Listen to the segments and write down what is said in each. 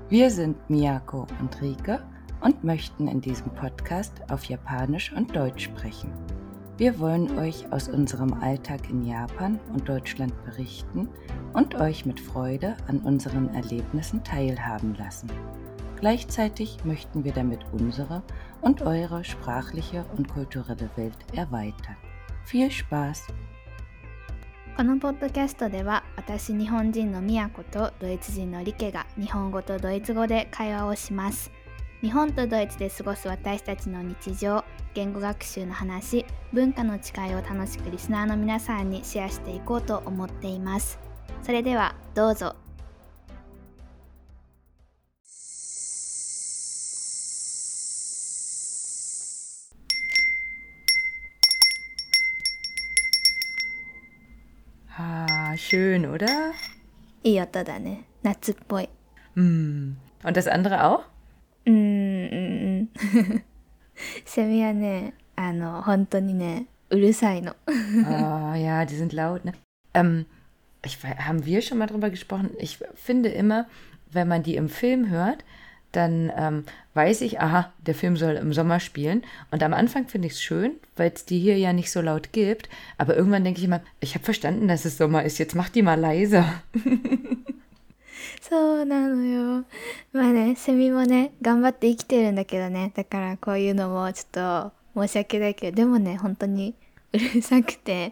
Wir sind Miyako und Rike und möchten in diesem Podcast auf Japanisch und Deutsch sprechen. Wir wollen euch aus unserem Alltag in Japan und Deutschland berichten und euch mit Freude an unseren Erlebnissen teilhaben lassen. Gleichzeitig möchten wir damit unsere und eure sprachliche und kulturelle Welt erweitern. Viel Spaß! このポッドキャストでは私日本人のみやことドイツ人のリケが日本語とドイツ語で会話をします。日本とドイツで過ごす私たちの日常、言語学習の話、文化の違いを楽しくリスナーの皆さんにシェアしていこうと思っています。それではどうぞ。 Schön, oder? いい音だね。夏っぽい。 Und das andere auch? セミはね、本当にね、うるさいの。 Oh ja, die sind laut, ne? Haben wir schon mal drüber gesprochen? Ich finde immer, wenn man die im Film hört, dann weiß ich, aha, der Film soll im Sommer spielen. Und am Anfang finde ich es schön, weil es die hier ja nicht so laut gibt. Aber irgendwann denke ich immer, ich habe verstanden, dass es Sommer ist. Jetzt mach die mal leiser. そうなのよ。まあね、セミもね、頑張って生きてるんだけどね。だからこういうのもちょっと申し訳ないけど、でもね、本当にうるさくて、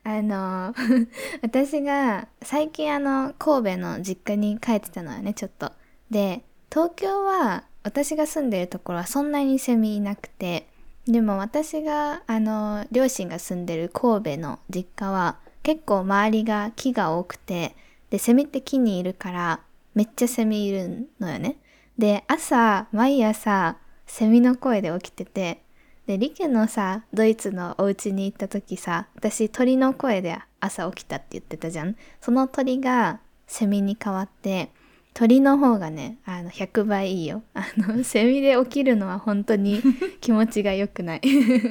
私が最近神戸の実家に帰ってたのよね、ちょっと。で、東京は私が住んでるところはそんなにセミいなくて、でも私が両親が住んでる神戸の実家は結構周りが木が多くて、でセミって木にいるからめっちゃセミいるのよね。で毎朝セミの声で起きてて、でリケのドイツのお家に行った時私鳥の声で朝起きたって言ってたじゃん。その鳥がセミに変わって、鳥の方がね、100倍いいよ。セミで起きるのは本当に気持ちが良くない。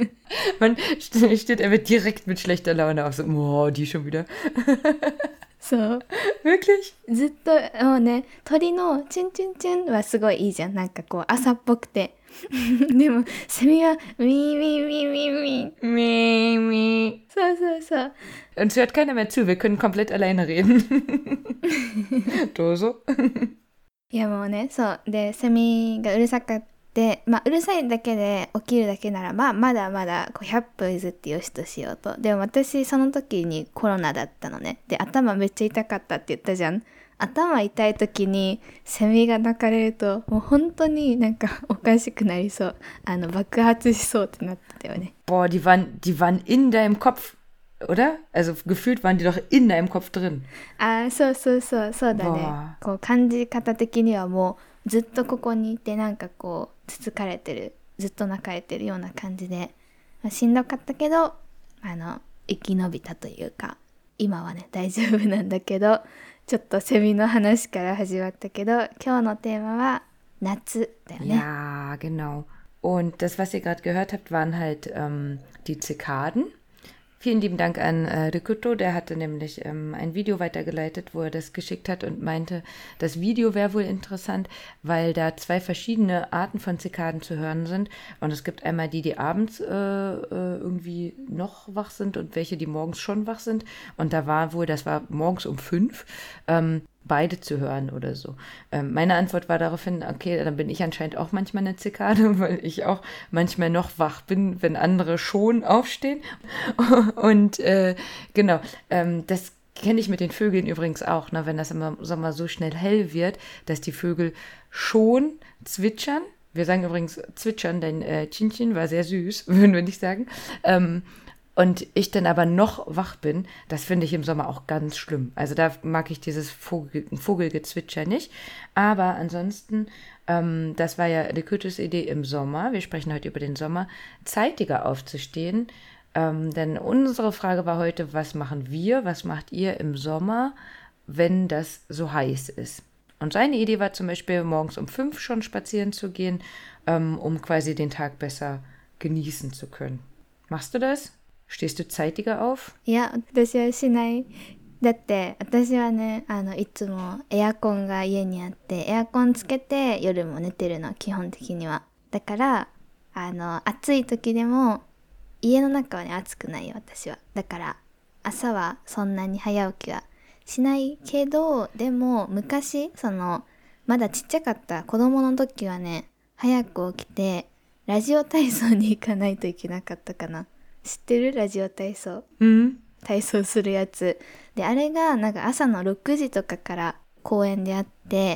Man steht einfach direkt mit schlechter Laune auf, so, oh, die schon wieder. そう。 Wirklich? ずっと、もうね、鳥のチュンチュンチュンはすごいいいじゃん。なんかこう、朝っぽくて。でも、セミは、ウィーウィーウィーウィーウィー。 Mie, mie. そうそうそう。 Uns hört keiner mehr zu, wir können komplett alleine reden. どうぞ。 いやもうね、そう。で、セミがうるさかって、うるさいだけで起きるだけなら、まだまだ100歩譲ってよしとしようと。でも私、その時にコロナだったのね。で、頭めっちゃ痛かったって言ったじゃん。頭痛い時にセミが鳴かれると、もう本当になんかおかしくなりそう。爆発しそうってなってたよね。 Boah, die waren in deinem Kopf.Oder? Also gefühlt waren die doch in deinem Kopf drin. そうだね。こう感じ方的にはもうずっとここにいてなんかこうつつかれてる、ずっと泣かれてるような感じで、しんどかったけど生き延びたというか、今はね大丈夫なんだけど、ちょっとセミの話から始まったけど、今日のテーマは夏だよね。 Ja, genau. Und das, was ihr gerade gehört habt, waren halt die Zikaden.Vielen lieben Dank an Rikuto, der hatte nämlich ein Video weitergeleitet, wo er das geschickt hat und meinte, das Video wäre wohl interessant, weil da 2 verschiedene Arten von Zikaden zu hören sind. Und es gibt einmal die abends irgendwie noch wach sind und welche, die morgens schon wach sind. Und da war wohl, das war morgens um 5, beide zu hören oder so. Meine Antwort war daraufhin, okay, dann bin ich anscheinend auch manchmal eine Zikade, weil ich auch manchmal noch wach bin, wenn andere schon aufstehen. Und genau, das kenne ich mit den Vögeln übrigens auch, ne, wenn das im Sommer so schnell hell wird, dass die Vögel schon zwitschern. Wir sagen übrigens zwitschern, denn Chin-Chin war sehr süß, würden wir nicht sagen. Und ich dann aber noch wach bin, das finde ich im Sommer auch ganz schlimm. Also da mag ich dieses Vogelgezwitscher nicht. Aber ansonsten, das war ja Rikutos Idee im Sommer, wir sprechen heute über den Sommer, zeitiger aufzustehen. Denn unsere Frage war heute, was machen wir, was macht ihr im Sommer, wenn das so heiß ist? Und seine Idee war zum Beispiel, morgens um 5 schon spazieren zu gehen, um quasi den Tag besser genießen zu können. Machst du das? Stehst du zeitiger auf? いや、私はしない。 だって私はねいつもエアコンが家にあってエアコンつけて夜も寝てるの基本的には。だから暑い時でも家の中はね暑くないよ私は。だから朝はそんなに早起きはしないけど、でも昔まだちっちゃかった子供の時はね早く起きてラジオ体操に行かないといけなかったかな。知ってる？ラジオ体操。体操するやつで、あれがなんか朝の6時とかから公園であって、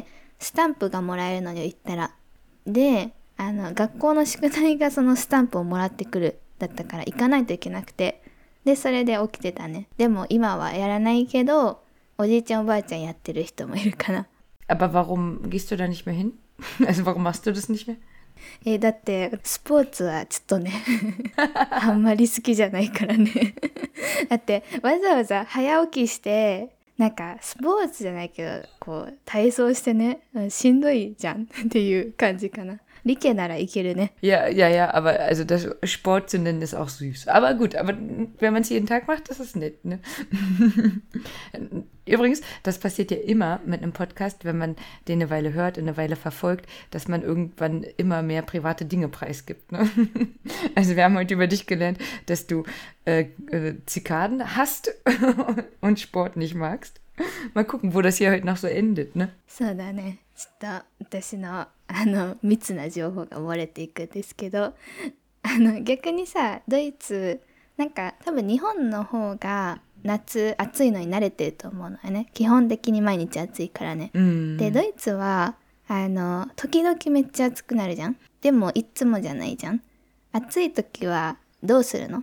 スタンプがもらえるのよ行ったら。で学校の宿題がそのスタンプをもらってくるだったから行かないといけなくて、でそれで起きてたね。でも今はやらないけどおじいちゃんおばあちゃんやってる人もいるかな。 Aber warum gehst du da nicht mehr hin? Also warum machst du das nicht mehr? だってスポーツはちょっとねあんまり好きじゃないからねだってわざわざ早起きしてなんかスポーツじゃないけどこう体操してね、しんどいじゃんっていう感じかな。理系ならいけるね。 Ja, aber also das Sport zu nennen ist auch süß. Aber gut, aber wenn man es jeden Tag macht, das ist nett, ne? Übrigens, das passiert ja immer mit einem Podcast, wenn man den eine Weile hört, eine Weile verfolgt, dass man irgendwann immer mehr private Dinge preisgibt, ne? Also wir haben heute über dich gelernt, dass du Zikaden hast und Sport nicht magst. Mal gucken, wo das hier heute noch so endet, ne? そうだね。ちょっと私の密な情報が漏れていくんですけど、逆にさドイツなんか多分日本の方が夏暑いのに慣れてると思うのよね。基本的に毎日暑いからね。でドイツは時々めっちゃ暑くなるじゃん。でもいつもじゃないじゃん。暑い時はどうするの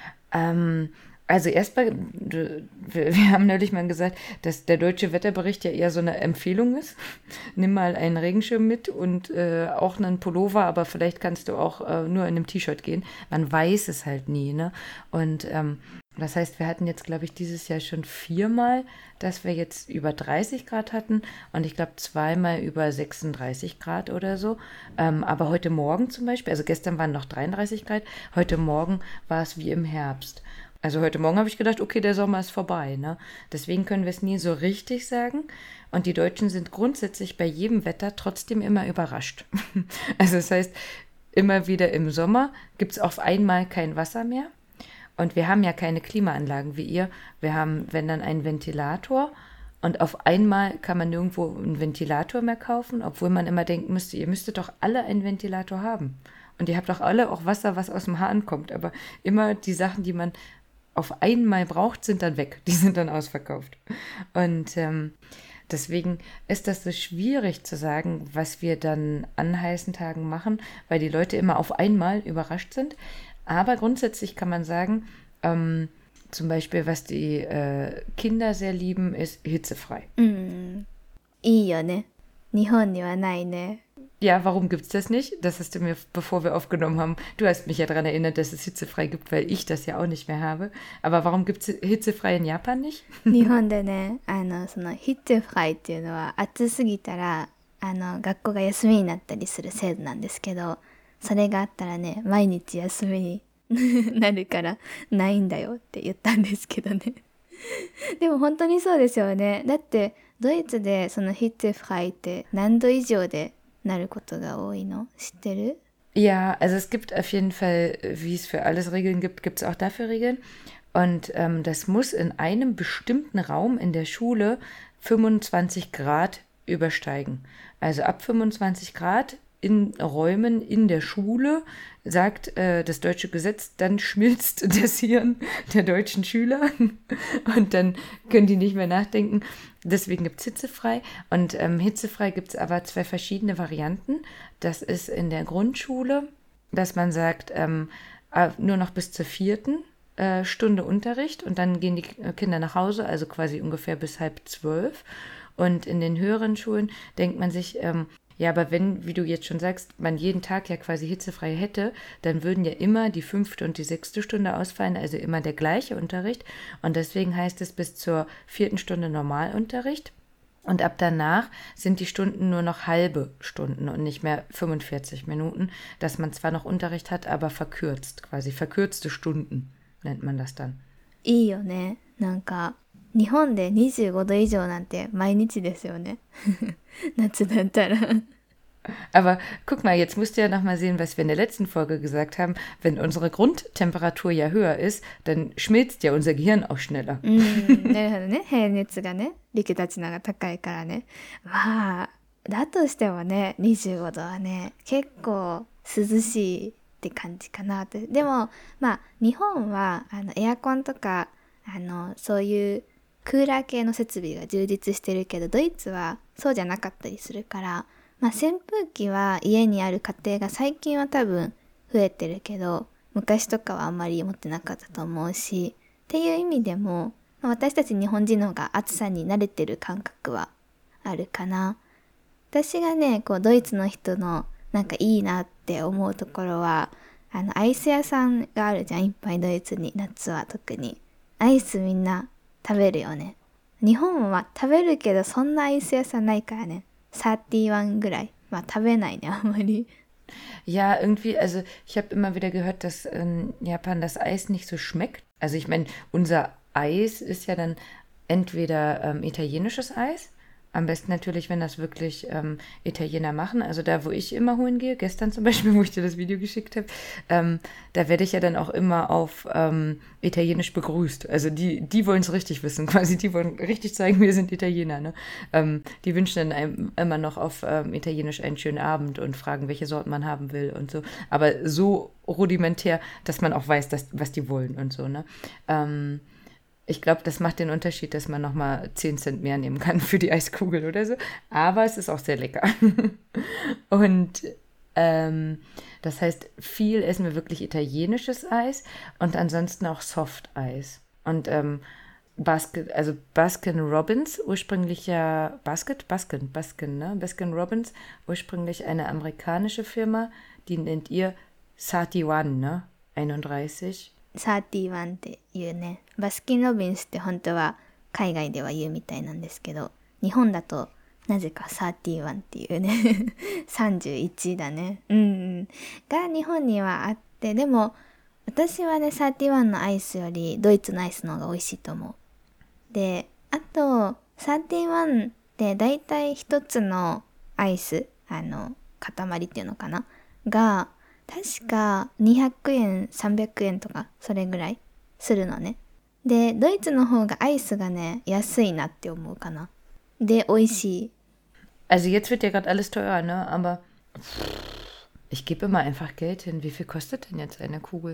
？Also erstmal, wir haben neulich mal gesagt, dass der deutsche Wetterbericht ja eher so eine Empfehlung ist. Nimm mal einen Regenschirm mit und auch einen Pullover, aber vielleicht kannst du auch nur in einem T-Shirt gehen. Man weiß es halt nie, ne? Und das heißt, wir hatten jetzt, glaube ich, dieses Jahr schon 4-mal, dass wir jetzt über 30 Grad hatten und ich glaube 2-mal über 36 Grad oder so. Aber heute Morgen zum Beispiel, also gestern waren noch 33 Grad, heute Morgen war es wie im Herbst. Also heute Morgen habe ich gedacht, okay, der Sommer ist vorbei, ne? Deswegen können wir es nie so richtig sagen. Und die Deutschen sind grundsätzlich bei jedem Wetter trotzdem immer überrascht. Also das heißt, immer wieder im Sommer gibt es auf einmal kein Wasser mehr. Und wir haben ja keine Klimaanlagen wie ihr. Wir haben, wenn dann, einen Ventilator. Und auf einmal kann man nirgendwo einen Ventilator mehr kaufen, obwohl man immer denken müsste, ihr müsstet doch alle einen Ventilator haben. Und ihr habt doch alle auch Wasser, was aus dem Hahn kommt. Aber immer die Sachen, die man auf einmal braucht, sind dann weg. Die sind dann ausverkauft. Und deswegen ist das so schwierig zu sagen, was wir dann an heißen Tagen machen, weil die Leute immer auf einmal überrascht sind. Aber grundsätzlich kann man sagen, zum Beispiel, was die Kinder sehr lieben, ist hitzefrei. いいよね。日本にはないね。 Ja, warum gibt's das nicht? Das hast du mir, bevor wir aufgenommen haben, du hast mich ja daran erinnert, dass es hitzefrei gibt, weil ich das ja auch nicht mehr habe. Aber warum gibt's hitzefrei in Japan nicht? 日本でね、そのヒッツフライっていうのは暑すぎたら学校が休みになったりする制度なんですけど、それがあったらね、毎日休みになるからないんだよって言ったんですけどね。でも本当にそうですよね。だってドイツでそのヒッツフライって何度以上でなることが多いの？知ってる？ Ja, also es gibt auf jeden Fall, wie es für alles Regeln gibt, gibt es auch dafür Regeln. Und das muss in einem bestimmten Raum in der Schule 25 Grad übersteigen. Also ab 25 Grad in Räumen in der Schule, sagt das deutsche Gesetz, dann schmilzt das Hirn der deutschen Schüler und dann können die nicht mehr nachdenken. Deswegen gibt es hitzefrei. Und hitzefrei gibt es aber 2 verschiedene Varianten. Das ist in der Grundschule, dass man sagt, nur noch bis zur 4. Stunde Unterricht und dann gehen die Kinder nach Hause, also quasi ungefähr bis 11:30. Und in den höheren Schulen denkt man sich, ja, aber wenn, wie du jetzt schon sagst, man jeden Tag ja quasi hitzefrei hätte, dann würden ja immer die 5. und die 6. Stunde ausfallen, also immer der gleiche Unterricht. Und deswegen heißt es bis zur 4. Stunde Normalunterricht. Und ab danach sind die Stunden nur noch halbe Stunden und nicht mehr 45 Minuten, dass man zwar noch Unterricht hat, aber verkürzt, quasi verkürzte Stunden nennt man das dann. いいよね。なんか日本で25度以上なんて毎日ですよね。夏だったら。 Aber guck mal, jetzt musst du ja noch mal sehen, was wir in der letzten Folge gesagt haben. Wenn unsere Grundtemperatur ja höher ist, dann schmilzt ja unser Gehirn auch schneller. なるほどね。平熱がね、陸立ちなが高いからね。まあ、だとしてもね、25度はね、結構涼しいって感じかなって。でも、まあ、日本はエアコンとかそういうクーラー系の設備が充実してるけど、ドイツはそうじゃなかったりするから、まあ、扇風機は家にある家庭が最近は多分増えてるけど、昔とかはあんまり持ってなかったと思うし、っていう意味でも、まあ、私たち日本人の方が暑さに慣れてる感覚はあるかな。私がね、こうドイツの人のなんかいいなって思うところは、アイス屋さんがあるじゃん、いっぱいドイツに、夏は特に。アイスみんな食べるよね。日本は食べるけどそんなアイス屋さんないからね。31ぐらい。まあ食べないね、あんまり。 Ja, irgendwie, also ich habe immer wieder gehört, dass in Japan das Eis nicht so schmeckt. Also ich meine, unser Eis ist ja dann entweder italienisches Eis. Am besten natürlich, wenn das wirklich Italiener machen. Also da, wo ich immer holen gehe, gestern zum Beispiel, wo ich dir das Video geschickt habe, da werde ich ja dann auch immer auf Italienisch begrüßt. Also die wollen es richtig wissen, quasi. Die wollen richtig zeigen, wir sind Italiener. Ne? Die wünschen dann einem immer noch auf Italienisch einen schönen Abend und fragen, welche Sorten man haben will und so. Aber so rudimentär, dass man auch weiß, was die wollen und so. Ne? Ich glaube, das macht den Unterschied, dass man nochmal 10 Cent mehr nehmen kann für die Eiskugel oder so. Aber es ist auch sehr lecker. Und das heißt, viel essen wir wirklich italienisches Eis und ansonsten auch Softeis. Und Baskin Robbins, ursprünglich ja Baskin, ne? Baskin Robbins, ursprünglich eine amerikanische Firma, die nennt ihr 31, ne? 31. 31っていうね。バスキン・ロビンスって本当は海外では言うみたいなんですけど、日本だとなぜか31っていうね31だね。が日本にはあって、でも私はね31のアイスよりドイツのアイスの方が美味しいと思う。で、あと31ってだいたい一つのアイス、塊っていうのかなが確か200円、300円とかそれぐらいするのね。で、ドイツの方がアイスがね、安いなって思うかな。で、美味しい。 Also jetzt wird ja gerade alles teurer, ne? Aber ich gebe immer einfach Geld hin. Wie viel kostet denn jetzt eine Kugel?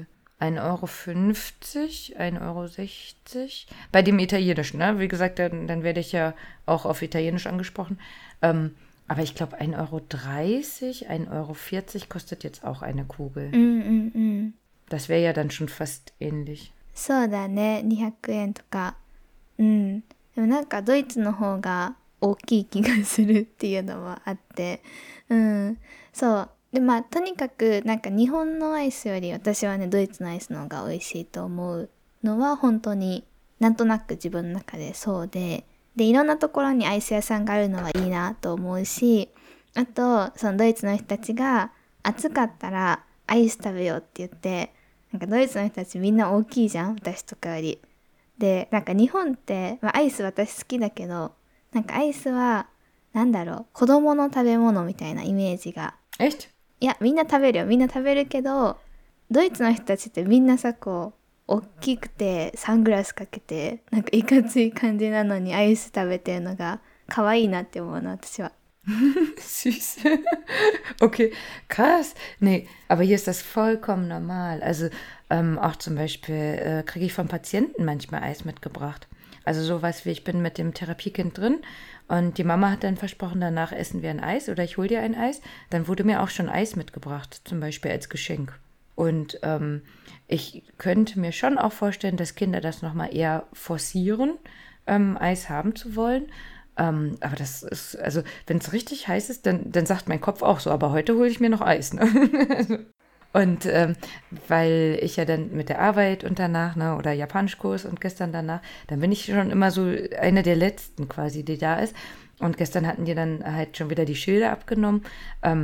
1,50 Euro, 1,60 Euro? Bei dem Italienischen, ne? Wie gesagt, dann werde ich ja auch auf Italienisch angesprochen. Aber ich glaube 1,30 Euro, 1,40 Euro kostet jetzt auch eine Kugel. Das wäre ja dann schon fast ähnlich. そうだね、200円とか。でもなんかドイツの方が大きい気がするっていうのもあって。そう。で、まあとにかくなんか日本のアイスより私はね、ドイツのアイスの方が美味しいと思うのは本当になんとなく自分の中でそうで。で、いろんなところにアイス屋さんがあるのはいいなと思うし、あと、そのドイツの人たちが暑かったらアイス食べようって言って、なんかドイツの人たちみんな大きいじゃん、私とかより。で、なんか日本って、まあ、アイス私好きだけど、なんかアイスは、なんだろう、子供の食べ物みたいなイメージが。 Echt? いや、みんな食べるよ、みんな食べるけど、ドイツの人たちってみんなさ、こう、大きくてサングラスかけてなんかいかつい感じなのにアイス食べてるのが可愛いなって思うの私は。 Süß. Okay, krass. Nee, aber hier ist das vollkommen normal. Also auch zum Beispiel kriege ich vom Patienten manchmal Eis mitgebracht. Also sowas wie, ich bin mit dem Therapiekind drin und die Mama hat dann versprochen, danach essen wir ein Eis oder ich hole dir ein Eis. Dann wurde mir auch schon Eis mitgebracht, zum Beispiel als Geschenk. Und ich könnte mir schon auch vorstellen, dass Kinder das nochmal eher forcieren, Eis haben zu wollen. Aber das ist, also wenn es richtig heiß ist, dann sagt mein Kopf auch so, aber heute hole ich mir noch Eis. Ne? Und weil ich ja dann mit der Arbeit und danach, ne, oder Japanischkurs und gestern danach, dann bin ich schon immer so eine der Letzten quasi, die da ist. Und gestern hatten die dann halt schon wieder die Schilder abgenommen.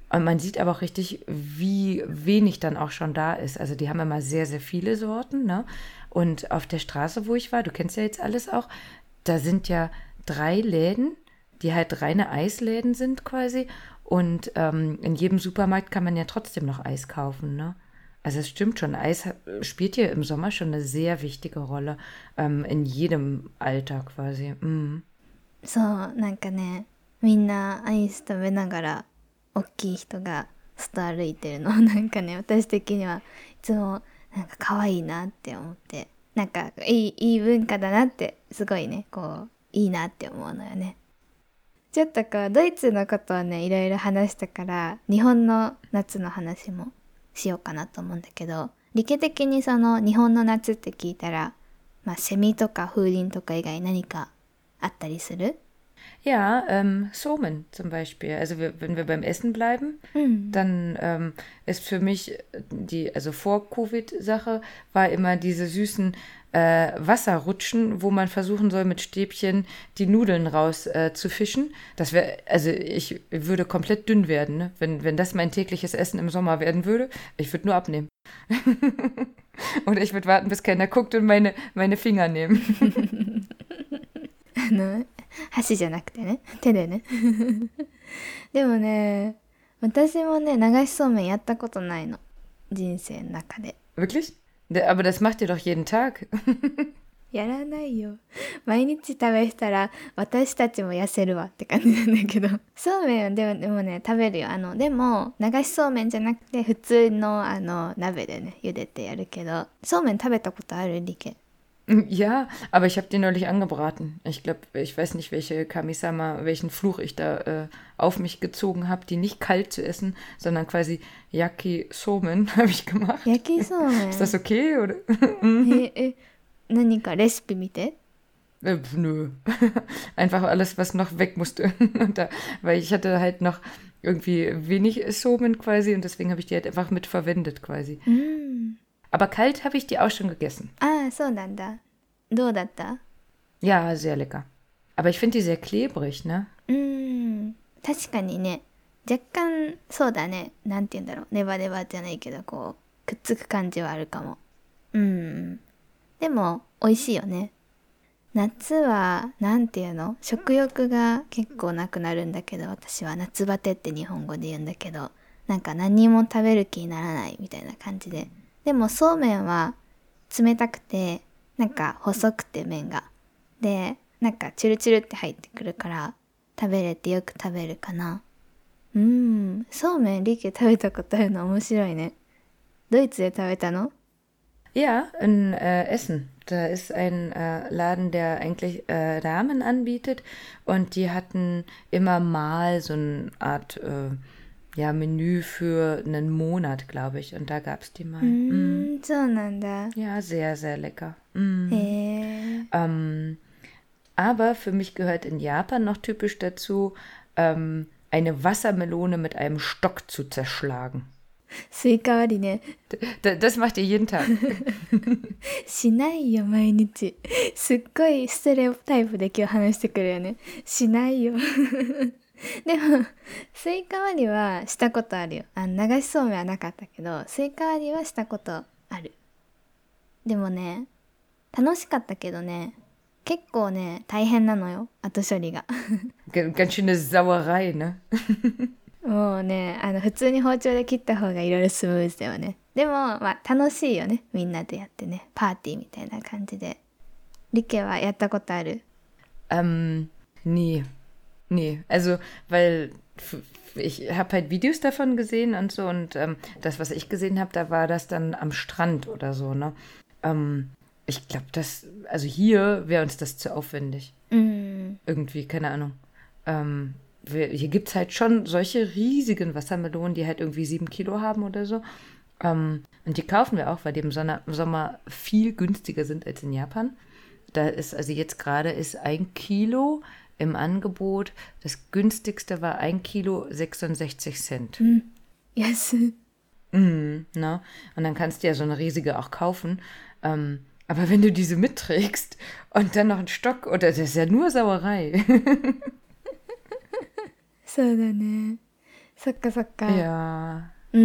Und man sieht aber auch richtig, wie wenig dann auch schon da ist. Also die haben immer sehr, sehr viele Sorten, ne? Und auf der Straße, wo ich war, du kennst ja jetzt alles auch, da sind ja 3 Läden, die halt reine Eisläden sind quasi. Und in jedem Supermarkt kann man ja trotzdem noch Eis kaufen, ne? Also es stimmt schon, spielt hier im Sommer schon eine sehr wichtige Rolle in jedem Alter quasi. Mhm. そう、なんかね、みんなアイス食べながら大きい人が外歩いてるのなんかね、私的にはいつもなんか可愛いなって思って、なんかいい文化だなってすごいね、こういいなって思うのよね。ちょっとこうドイツのことをねいろいろ話したから日本の夏の話もしようかなと思うんだけど、理系的にその日本の夏って聞いたら、まあセミとか風鈴とか以外何かあったりする？ Ja, Somen zum Beispiel. Also wenn wir beim Essen bleiben, dann ist für mich also Vor-Covid-Sache war immer diese süßen Wasserrutschen, wo man versuchen soll, mit Stäbchen die Nudeln raus zu fischen. Also ich würde komplett dünn werden, ne? Wenn das mein tägliches Essen im Sommer werden würde. Ich würde nur abnehmen. Oder ich würde warten, bis keiner guckt und meine Finger nehmen. 箸じゃなくてね、手でね。でもね、私もね、流しそうめんやったことないの。人生の中で。 Wirklich? Aber das macht ihr doch jeden Tag. やらないよ。毎日食べしたら私たちも痩せるわって感じなんだけど。そうめんはでもね、食べるよ。でも、流しそうめんじゃなくて、普通の鍋でね、茹でてやるけど。そうめん食べたことある？リケ。 Ja, aber ich habe die neulich angebraten. Ich glaube, ich weiß nicht, welchen Fluch ich da auf mich gezogen habe, die nicht kalt zu essen, sondern quasi Yakisomen habe ich gemacht. Yakisomen? Ist das okay, oder? 何かレシピ見て？ Nö. Einfach alles, was noch weg musste. Weil ich hatte halt noch irgendwie wenig Somen quasi und deswegen habe ich die halt einfach mit verwendet quasi. Aber kalt habe ich die auch schon gegessen. Ah, そうなんだ。どうだった？ Ja, sehr lecker. Aber ich finde die sehr klebrig, ne? 確かにね、若干そうだね。なんて言うんだろう。ネバネバじゃないけど、こうくっつく感じはあるかも。でも美味しいよね。夏はなんていうの？食欲が結構なくなるんだけど、私は夏バテって日本語で言うんだけど、なんか何も食べる気にならないみたいな感じで。でもそうめんは冷たくてなんか細くて麺がでなんかチュルチュルって入ってくるから食べれてよく食べるかな。そうめんリケ食べたことあるの面白いね。ドイツで食べたの？ Ja, in Essen. Da ist ein Laden, der eigentlich Ramen anbietet und die hatten immer mal so eine Art Menü für einen Monat, glaube ich. Und da gab es die mal. そうなんだ。 Ja, sehr, sehr lecker. へー。 Aber für mich gehört in Japan noch typisch dazu, eine Wassermelone mit einem Stock zu zerschlagen. スイカ割りね。 Das macht ihr jeden Tag. しないよ毎日。すっごいステレオタイプで今日話してくるよね。しないよ。でもスイカ割りはしたことあるよ。流しそうめんはなかったけどスイカ割りはしたことある。でもね楽しかったけどね結構ね大変なのよ後処理が。 Ganz schöne Sauerei, ne? もうね普通に包丁で切った方がいろいろスムーズだよね。でもまあ楽しいよねみんなでやってねパーティーみたいな感じで。リケはやったことある？ Nee. Also, weil ich habe halt Videos davon gesehen und so und das, was ich gesehen habe, da war das dann am Strand oder so, ne? Ich glaube, also hier wäre uns das zu aufwendig. Irgendwie, keine Ahnung. Hier gibt es halt schon solche riesigen Wassermelonen, die halt irgendwie 7 Kilo haben oder so. Und die kaufen wir auch, weil die im Sommer viel günstiger sind als in Japan. Also jetzt gerade ist 1 Kilo im Angebot. Das günstigste war 1 Kilo 66 Cent. Yes. Ne? Und dann kannst du ja so eine riesige auch kaufen. Aber wenn du diese mitträgst und dann noch einen Stock, oder das ist ja nur Sauerei. そうだね。 そっかそっか。 Ja. うん。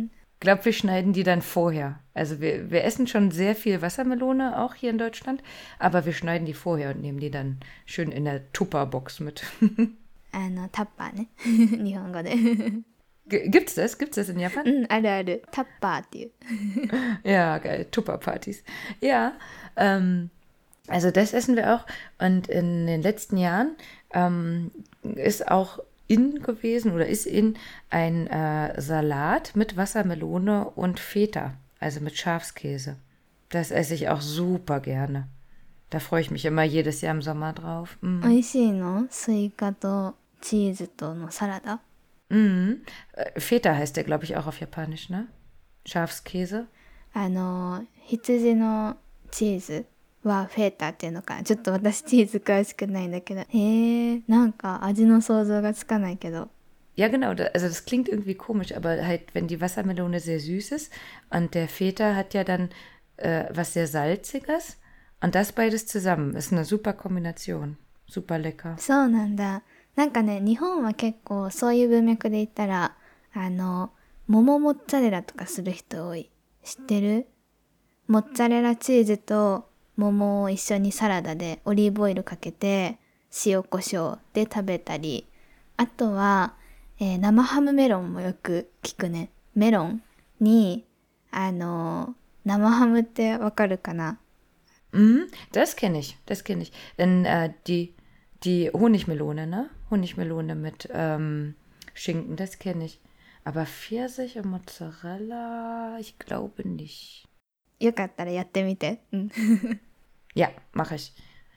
Ich glaube, wir schneiden die dann vorher. Also wir essen schon sehr viel Wassermelone, auch hier in Deutschland, aber wir schneiden die vorher und nehmen die dann schön in der Tupperbox mit. タッパーね。日本語で。 Gibt's das? Gibt's das in Japan? うん、あるある。タッパーっていう。 Ja, geil. Tupperpartys. Ja, also das essen wir auch. Und in den letzten Jahren ist auch in gewesen oder ist in ein Salat mit Wassermelone und Feta, also mit Schafskäse. Das esse ich auch super gerne. Da freue ich mich immer jedes Jahr im Sommer drauf. 美味しいの？スイカとチーズとのサラダ？ Feta heißt der, glaube ich, auch auf Japanisch, ne? Schafskäse. 羊のチーズはフェータっていうのかな。ちょっと私チーズ詳しくないんだけど。なんか味の想像がつかないけど。 Ja, genau. Also das klingt irgendwie komisch, aber halt, wenn die Wassermelone sehr süß ist und der Feta hat ja dann was sehr Salziges und das beides zusammen ist eine super Kombination. Super lecker. そうなんだ。なんかね、日本は結構そういう文脈で言ったら、桃モッツァレラとかする人多い。知ってる？モッツァレラチーズと桃を一緒にサラダでオリーブオイルかけて塩コショウで食べたり、あとは、生ハムメロンもよく聞くね。メロンに生ハムってわかるかな？ Das kenne ich, das kenne ich. Denn die Honigmelone, ne? Honigmelone mit Schinken, das kenne ich. Aber Pfirsich und Mozzarella, ich glaube nicht. よかったらやってみて。うん。 Ja, mache ich.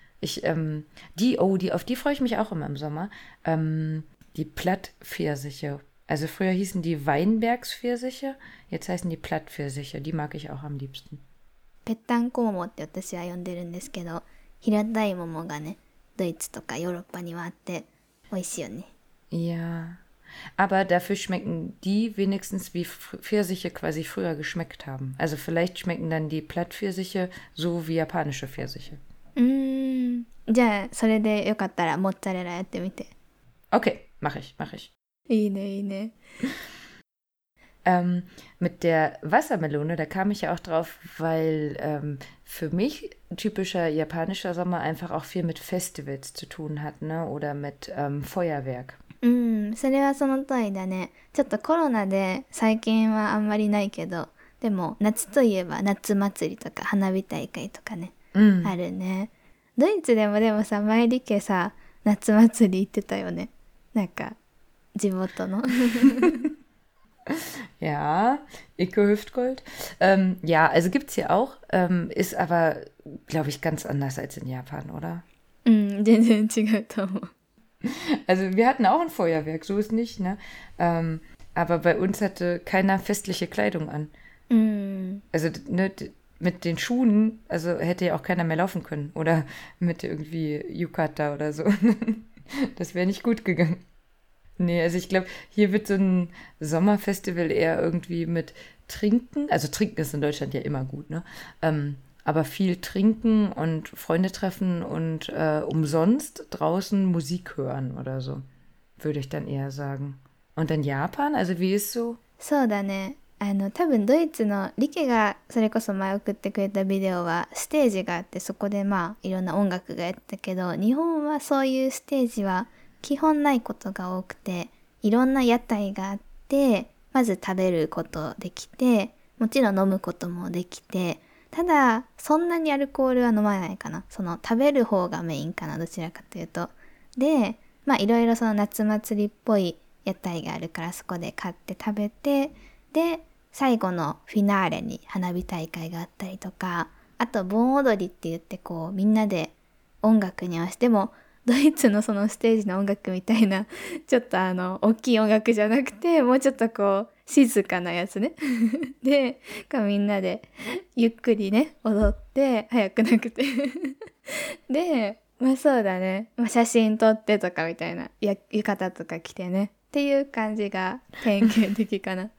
Auf die freue ich mich auch immer im Sommer. Die Plattpfirsiche. Also früher hießen die Weinbergspfirsiche, jetzt heißen die Plattpfirsiche. Die mag ich auch am liebsten. ぺったんこ桃って私は呼んでるんですけど、平たい桃がね、ドイツとかヨーロッパにはあって美味しいよね。 Ja, aber dafür schmecken die wenigstens wie Pfirsiche quasi früher geschmeckt haben. Also vielleicht schmecken dann die Plattpfirsiche so wie japanische Pfirsiche. じゃあそれでよかったらモッツァレラやってみて。 Okay, mache ich. いいねいいね。 Mit der Wassermelone, da kam ich ja auch drauf, weil für mich typischer japanischer Sommer einfach auch viel mit Festivals zu tun hat, ne? Oder mit Feuerwerk. それはその通りだね。ちょっとコロナで最近はあんまりないけど、でも夏といえば夏祭りとか花火大会とかね、あるね。ドイツでもさ、前リケさ、夏祭り行ってたよね。なんか地元の。 Ja, Icke Hüftgold. Ja, also gibt es hier auch, ist aber, glaube ich, ganz anders als in Japan, oder? 全然違うと思う。 Also wir hatten auch ein Feuerwerk, so ist nicht, ne? Aber bei uns hatte keiner festliche Kleidung an. Also ne, mit den Schuhen, also hätte ja auch keiner mehr laufen können. Oder mit irgendwie Yukata oder so. Das wäre nicht gut gegangen. Nee, also ich glaube, hier wird so ein Sommerfestival eher irgendwie mit Trinken. Also Trinken ist in Deutschland ja immer gut, ne? Aber viel trinken und Freunde treffen und umsonst draußen Musik hören oder so, würde ich dann eher sagen. Und in Japan, also wie ist so? そうだね。多分ドイツのリケがそれこそ前送ってくれたビデオはステージがあってそこでまあいろんな音楽がやったけど、日本はそういうステージは基本ないことが多くて、いろんな屋台があって、まず食べることできて、もちろん飲むこともできて、ただそんなにアルコールは飲まないかな。その食べる方がメインかな、どちらかというと。で、まあいろいろその夏祭りっぽい屋台があるからそこで買って食べて、で最後のフィナーレに花火大会があったりとか、あと盆踊りって言ってこうみんなで音楽に合わせてもドイツのそのステージの音楽みたいなちょっと大きい音楽じゃなくてもうちょっとこう静かなやつねでみんなでゆっくりね踊って早くなくてでまあそうだね、まあ、写真撮ってとかみたいな浴衣とか着てねっていう感じが典型的かな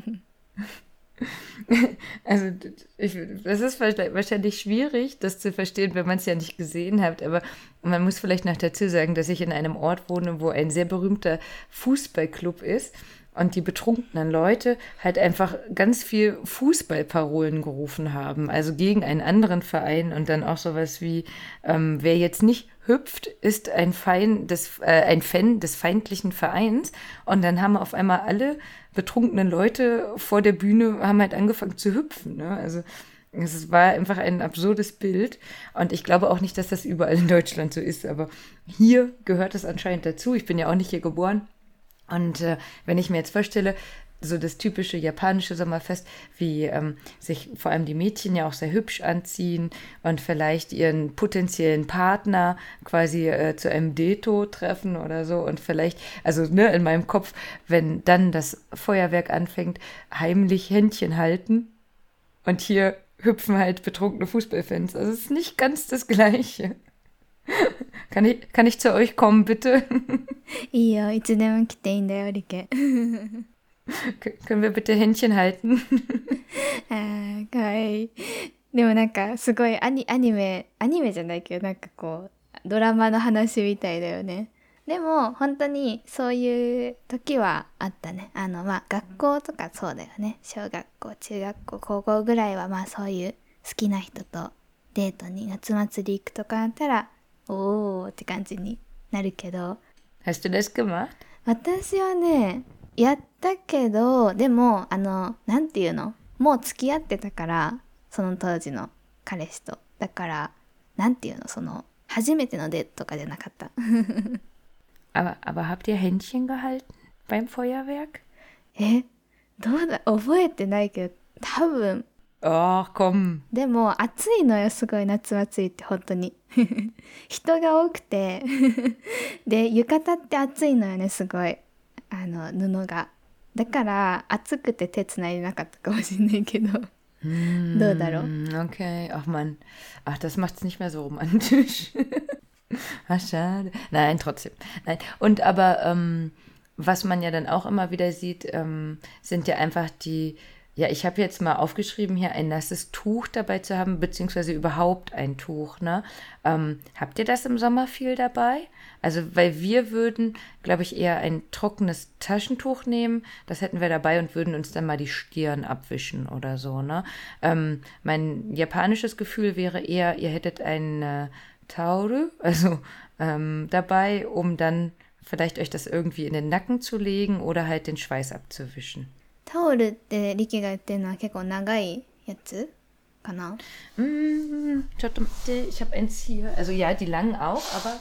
Also es ist wahrscheinlich schwierig, das zu verstehen, wenn man es ja nicht gesehen hat, aber man muss vielleicht noch dazu sagen, dass ich in einem Ort wohne, wo ein sehr berühmter Fußballclub ist und die betrunkenen Leute halt einfach ganz viel Fußballparolen gerufen haben, also gegen einen anderen Verein und dann auch sowas wie, wer jetzt nicht hüpft, ist ein Fan des feindlichen Vereins. Und dann haben auf einmal alle betrunkenen Leute vor der Bühne haben halt angefangen zu hüpfen. Ne? Also es war einfach ein absurdes Bild. Und ich glaube auch nicht, dass das überall in Deutschland so ist, aber hier gehört es anscheinend dazu. Ich bin ja auch nicht hier geboren. Und wenn ich mir jetzt vorstelle, so das typische japanische Sommerfest, wie sich vor allem die Mädchen ja auch sehr hübsch anziehen und vielleicht ihren potenziellen Partner quasi zu einem Deto treffen oder so und vielleicht, also ne, in meinem Kopf, wenn dann das Feuerwerk anfängt, heimlich Händchen halten und hier hüpfen halt betrunkene Fußballfans. Also es ist nicht ganz das Gleiche. Kann ich zu euch kommen, bitte? いいよ、いつでも来ていいんだよ、リケ。 Können wir bitte Händchen halten? あー、かわいい。でもなんかすごいアニメじゃないけどなんかこうドラマの話みたいだよね。でも本当にそういう時はあったね。まあ学校とかそうだよね。小学校、中学校、高校ぐらいはまあそういう好きな人とデートに夏祭り行くとかだったらおーって感じになるけど。 Hast du das gemacht? 私はね、やったけど、でもなんていうの？もう付き合ってたから、その当時の彼氏と。だから、なんていうの？その初めてのデートとかじゃなかった。 aber habt ihr Händchen gehalten beim Feuerwerk? どうだ？覚えてないけど、多分。 Oh, komm. でも暑いのよ、すごい夏祭りって本当に。人が多くてで浴衣って暑いのよね、すごい布が。だから暑くて手つないでなかったかもしれないけど。どうだろう? Okay, ach Mann. Ach, das macht's nicht mehr so romantisch. Ach, schade. Nein, trotzdem. Nein. Und aber, was man ja dann auch immer wieder sieht, sind ja einfach ja, ich habe jetzt mal aufgeschrieben, hier ein nasses Tuch dabei zu haben, beziehungsweise überhaupt ein Tuch, ne? Habt ihr das im Sommer viel dabei? Also, weil wir würden, glaube ich, eher ein trockenes Taschentuch nehmen, das hätten wir dabei und würden uns dann mal die Stirn abwischen oder so, ne? Mein japanisches Gefühl wäre eher, ihr hättet ein Tauru, also dabei, um dann vielleicht euch das irgendwie in den Nacken zu legen oder halt den Schweiß abzuwischen. タオルってリキが言ってるのは結構長いやつかな? Schaut mal, ich habe eins hier. Also ja, die langen auch, aber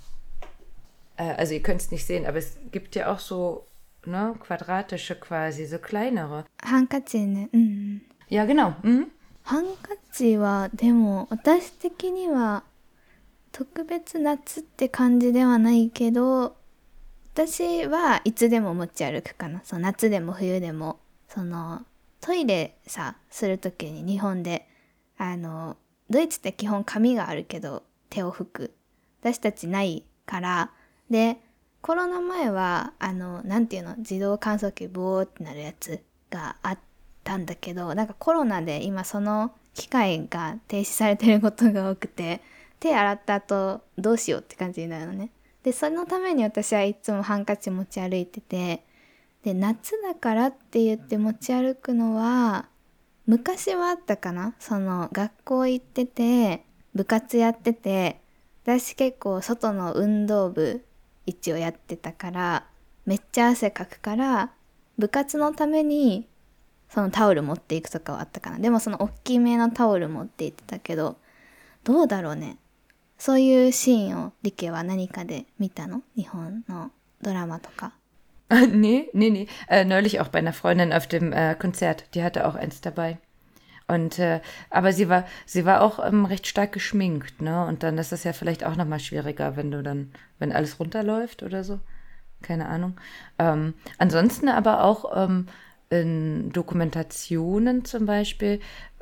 also ihr könnt es nicht sehen, aber es gibt ja auch so, ne, quadratische quasi, so kleinere. ハンカチね。 Ja, genau. ハンカチはでも私的には特別夏って感じではないけど、私はいつでも持ち歩くかな。夏でも冬でもトイレするときに日本でドイツって基本紙があるけど手を拭く、私たちないから。でコロナ前はなんていうの、自動乾燥機ボーってなるやつがあったんだけど、なんかコロナで今その機械が停止されてることが多くて、手洗った後どうしようって感じになるのね。でそのために私はいつもハンカチ持ち歩いてて、で夏だからって言って持ち歩くのは昔はあったかな。学校行ってて部活やってて、私結構外の運動部一応やってたからめっちゃ汗かくから、部活のためにそのタオル持っていくとかはあったかな。でもその大きめのタオル持って行ってたけど、どうだろうね。そういうシーンをリケは何かで見たの？日本のドラマとか。 Nee. Neulich auch bei einer Freundin auf dem Konzert. Die hatte auch eins dabei. Und aber sie war auch recht stark geschminkt, ne? Und dann ist das ja vielleicht auch nochmal schwieriger, wenn alles runterläuft oder so. Keine Ahnung. Ansonsten aber auch in Dokumentationen zum Beispiel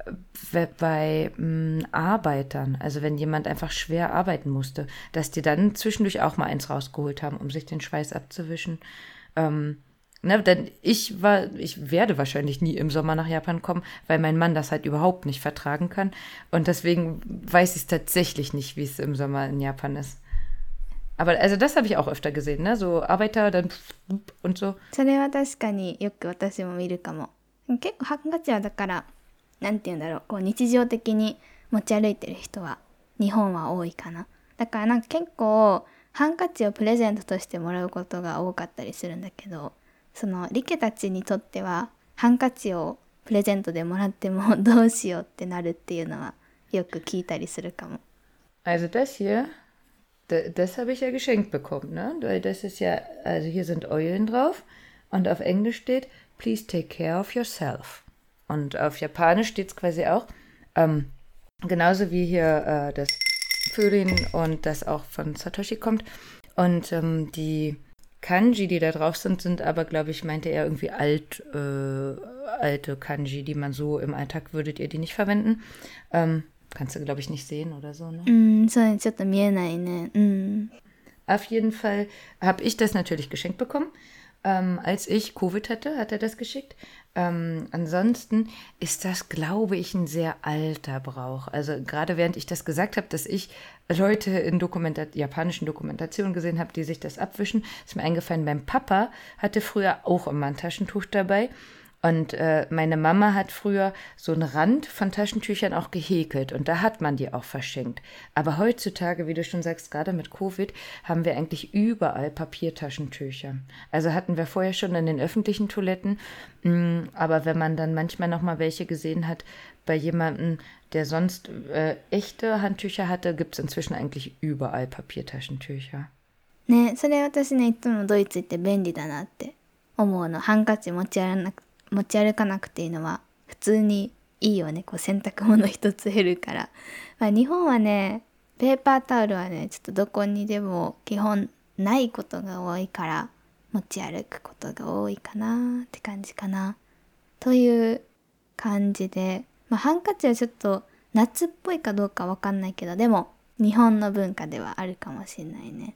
bei Arbeitern, also wenn jemand einfach schwer arbeiten musste, dass die dann zwischendurch auch mal eins rausgeholt haben, um sich den Schweiß abzuwischen. Denn ich werde wahrscheinlich nie im Sommer nach Japan kommen, weil mein Mann das halt überhaupt nicht vertragen kann. Und deswegen weiß ich es tatsächlich nicht, wie es im Sommer in Japan ist. Aber also das habe ich auch öfter gesehen, ne? So Arbeiter, dann und so. それは確かによく私も見るかも。結構ハンカチはだからなんて言うんだろう、こう日常的に持ち歩いてる人は日本は多いかな。だからなんか結構ハンカチをプレゼントとしてもらうことが多かったりするんだけど、そのリケたちにとってはハンカチをプレゼントでもらってもどうしようってなるっていうのはよく聞いたりするかも。 Also das hier, das habe ich ja geschenkt bekommen, ne? Weil das ist ja, also hier sind Eulen drauf und auf Englisch steht, please take care of yourself. Und auf Japanisch steht es quasi auch, genauso wie hier das Vögeln und das auch von Satoshi kommt. Und die Kanji, die da drauf sind, sind aber, glaube ich, meinte er irgendwie alte Kanji, die man so im Alltag würdet ihr die nicht verwenden. Kannst du, glaube ich, nicht sehen oder so, ne? そうね、ちょっと見えないね。 Auf jeden Fall habe ich das natürlich geschenkt bekommen. Als ich Covid hatte, hat er das geschickt. Ansonsten ist das, glaube ich, ein sehr alter Brauch. Also gerade während ich das gesagt habe, dass ich Leute in japanischen Dokumentationen gesehen habe, die sich das abwischen, ist mir eingefallen, mein Papa hatte früher auch immer ein Taschentuch dabei. Und meine Mama hat früher so einen Rand von Taschentüchern auch gehäkelt und da hat man die auch verschenkt. Aber heutzutage, wie du schon sagst, gerade mit Covid, haben wir eigentlich überall Papiertaschentücher. Also hatten wir vorher schon in den öffentlichen Toiletten, aber wenn man dann manchmal noch mal welche gesehen hat bei jemandem, der sonst echte Handtücher hatte, gibt es inzwischen eigentlich überall Papiertaschentücher. ね、それ私ね、いつもドイツ行って便利だなって思うの。ハンカチ持ち歩かなくていいのは普通にいいよね。こう洗濯物一つ減るから。まあ、日本はね、ペーパータオルはね、ちょっとどこにでも基本ないことが多いから持ち歩くことが多いかなって感じかな。という感じで、まあ、ハンカチはちょっと夏っぽいかどうかわかんないけど、でも日本の文化ではあるかもしれないね。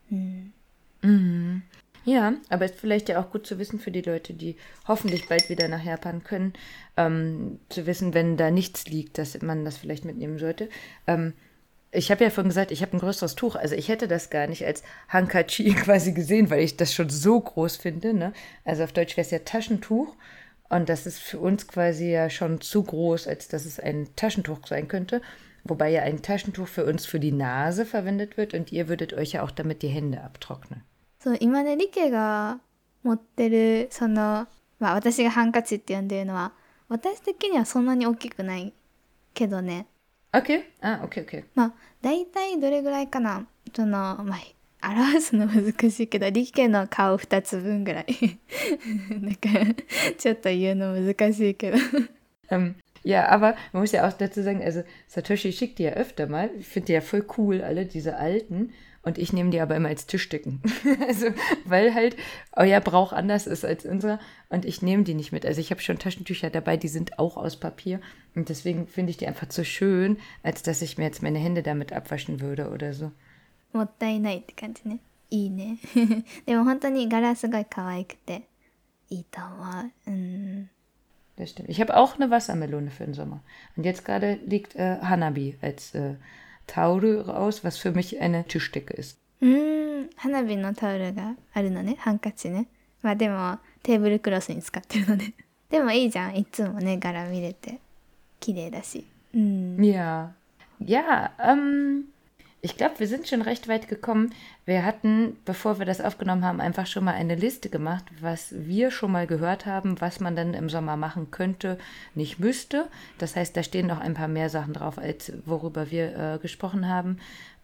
Ja, aber ist vielleicht ja auch gut zu wissen für die Leute, die hoffentlich bald wieder nach Japan können, zu wissen, wenn da nichts liegt, dass man das vielleicht mitnehmen sollte. Ich habe ja vorhin gesagt, ich habe ein größeres Tuch, also ich hätte das gar nicht als Hankachi quasi gesehen, weil ich das schon so groß finde, ne? Also auf Deutsch wäre es ja Taschentuch und das ist für uns quasi ja schon zu groß, als dass es ein Taschentuch sein könnte. Wobei ja ein Taschentuch für uns für die Nase verwendet wird und ihr würdet euch ja auch damit die Hände abtrocknen. そう、今ね、リケが持ってる、その、まあ私がハンカチって呼んでるのは、私的にはそんなに大きくないけどね。 Okay, okay. まあ、だいたいどれぐらいかな。その、まあ、表すの難しいけど、リケの顔2つ分ぐらい。だから、ちょっと言うの難しいけど。 Ja, aber man muss ja auch dazu sagen, also Satoshi schickt die ja öfter mal. Ich finde die ja voll cool, alle diese alten. Und ich nehme die aber immer als Tischdecken. Also, weil halt euer Brauch anders ist als unserer. Und ich nehme die nicht mit. Also ich habe schon Taschentücher dabei, die sind auch aus Papier. Und deswegen finde ich die einfach zu schön, als dass ich mir jetzt meine Hände damit abwaschen würde oder so. もったいないって感じね。いいね。でも本当に柄すごい可愛くていいと思う。 Das stimmt. Ich habe auch eine Wassermelone für den Sommer. Und jetzt gerade liegt Hanabi als Tauru raus, was für mich eine Tischdecke ist. 花火のタオルがあるのね、ハンカチね。まあでもテーブルクロスに使ってるので。でもいいじゃん、いつもね、柄見れて綺麗だし。 Ja. Ja, ich glaube, wir sind schon recht weit gekommen. Wir hatten, bevor wir das aufgenommen haben, einfach schon mal eine Liste gemacht, was wir schon mal gehört haben, was man dann im Sommer machen könnte, nicht müsste. Das heißt, da stehen noch ein paar mehr Sachen drauf, als worüber wir gesprochen haben.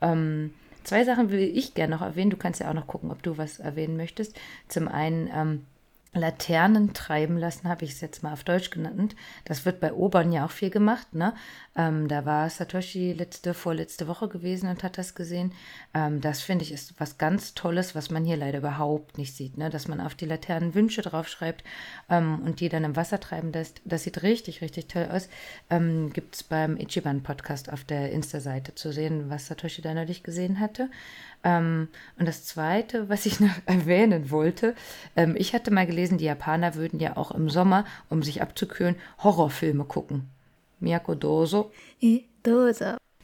2 Sachen will ich gerne noch erwähnen. Du kannst ja auch noch gucken, ob du was erwähnen möchtest. Zum einen Laternen treiben lassen, habe ich es jetzt mal auf Deutsch genannt. Das wird bei Obern ja auch viel gemacht, ne? Da war Satoshi vorletzte Woche gewesen und hat das gesehen. Das finde ich ist was ganz Tolles, was man hier leider überhaupt nicht sieht, ne? Dass man auf die Laternen Wünsche draufschreibt und die dann im Wasser treiben lässt. Das sieht richtig, richtig toll aus. Gibt es beim Ichiban-Podcast auf der Insta-Seite zu sehen, was Satoshi da neulich gesehen hatte. Und das Zweite, was ich noch erwähnen wollte, ich hatte mal gelesen, die Japaner würden ja auch im Sommer, um sich abzukühlen, Horrorfilme gucken. Miyako Doso. どうぞ。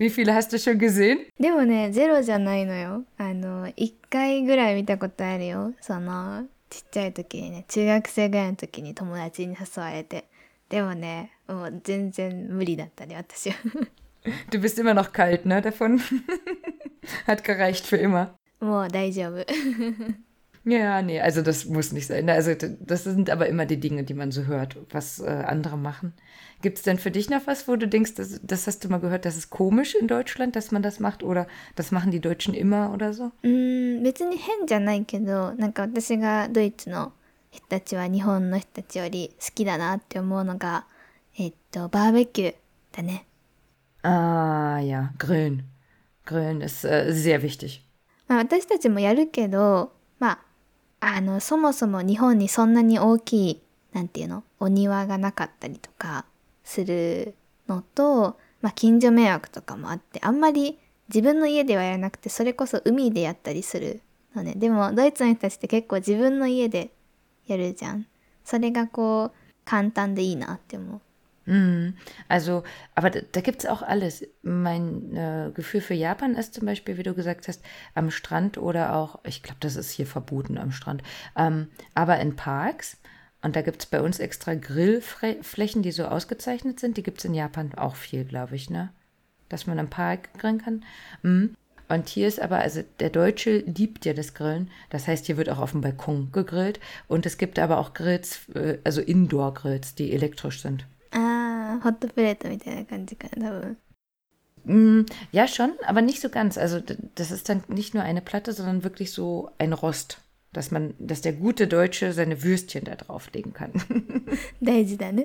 Wie viele hast du schon gesehen? でもね、ゼロじゃないのよ。1回ぐらい見たことあるよ。ちっちゃい時にね、中学生ぐらいの時に友達に誘われて。でもね、もう全然無理だったね、私は。 Du bist immer noch kalt, ne, davon? Hat gereicht für immer. もう大丈夫。 Ja, nee, also das muss nicht sein. Also das sind aber immer die Dinge, die man so hört, was andere machen. Gibt es denn für dich noch was, wo du denkst, das hast du mal gehört, das ist komisch in Deutschland, dass man das macht oder das machen die Deutschen immer oder so? 別に変じゃないけど、なんか私がドイツの人たちは日本の人たちより好きだなって思うのが、バーベキューだね。 Ah, ja, Grillen. Grillen ist sehr wichtig. まあ私たちもやるけど、まあ、そもそも日本にそんなに大きい、なんていうの、お庭がなかったりとかするのと、まあ近所迷惑とかもあって、あんまり自分の家ではやらなくて、それこそ海でやったりするのね。でもドイツの人たちって結構自分の家でやるじゃん。それがこう簡単でいいなって思う。 Also, aber da gibt es auch alles. Mein Gefühl für Japan ist zum Beispiel, wie du gesagt hast, am Strand oder auch, ich glaube, das ist hier verboten am Strand, aber in Parks. Und da gibt es bei uns extra Grillflächen, die so ausgezeichnet sind. Die gibt es in Japan auch viel, glaube ich, ne? Dass man im Park grillen kann. Und hier ist aber, also der Deutsche liebt ja das Grillen. Das heißt, hier wird auch auf dem Balkon gegrillt. Und es gibt aber auch Grills, also Indoor-Grills, die elektrisch sind. ホットプレートみたいな感じかな、多分。 Ja, schon, aber nicht so ganz. Also das ist dann nicht nur eine Platte, sondern wirklich so ein Rost, dass der gute Deutsche seine Würstchen da drauflegen kann. 大事だね。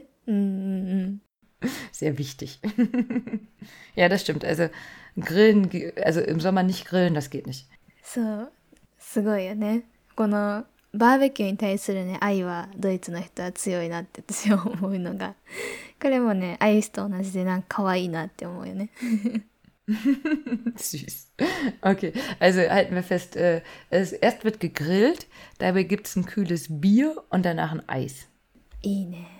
Sehr wichtig. Ja, das stimmt. Also Grillen, also im Sommer nicht grillen, das geht nicht. そう、すごいよね。このバーベキューに対するね、愛はドイツの人は強いなって私は思うのが、これもね、アイスと同じでなんか可愛いなって思うよね。 Süß. Okay, also halten wir fest, erst wird gegrillt, dabei gibt es ein kühles Bier und danach ein Eis. いいね。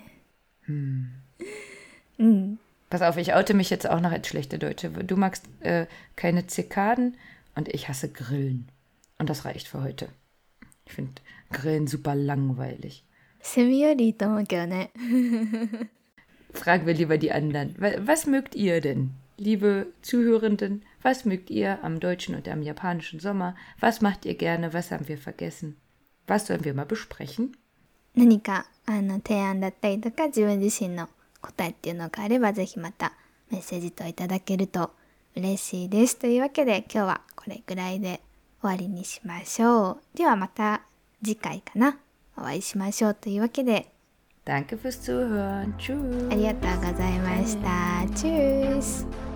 Pass auf, ich oute mich jetzt auch noch als schlechte Deutsche. Du magst keine Zikaden und ich hasse Grillen. Und das reicht für heute. Ich finde Grillen super langweilig. セミよりいいと思うけどね。 Fragen wir lieber die anderen. Was mögt ihr denn? Liebe Zuhörenden, was mögt ihr am deutschen und am japanischen Sommer? Was macht ihr gerne? Was haben wir vergessen? Was sollen wir mal besprechen? 何か提案だったりとか自分自身の答えっていうのがあればぜひまたメッセージといただけると嬉しいです。というわけで今日はこれぐらいで終わりにしましょう。ではまた次回かなお会いしましょうというわけで Danke fürs Zuhören. Tschüss. ありがとうございました。チュース。